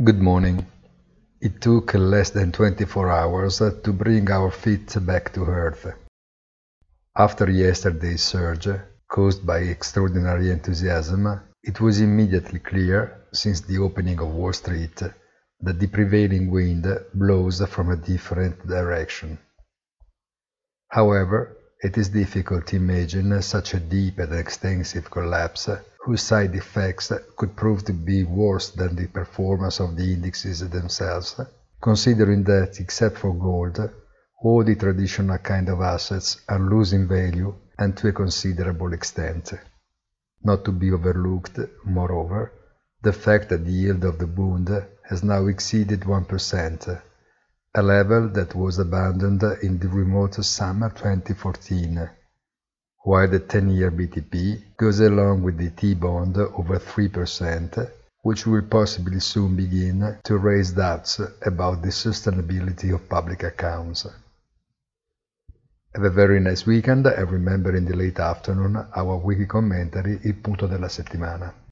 Good morning. It took less than 24 hours to bring our feet back to earth. After yesterday's surge, caused by extraordinary enthusiasm, it was immediately clear, since the opening of Wall Street, that the prevailing wind blows from a different direction. However, it is difficult to imagine such a deep and extensive collapse whose side effects could prove to be worse than the performance of the indexes themselves, considering that, except for gold, all the traditional kind of assets are losing value and to a considerable extent. Not to be overlooked, moreover, the fact that the yield of the bond has now exceeded 1%, a level that was abandoned in the remote summer 2014, while the 10-year BTP goes along with the T-bond over 3%, which will possibly soon begin to raise doubts about the sustainability of public accounts. Have a very nice weekend and remember in the late afternoon our weekly commentary Il punto della settimana.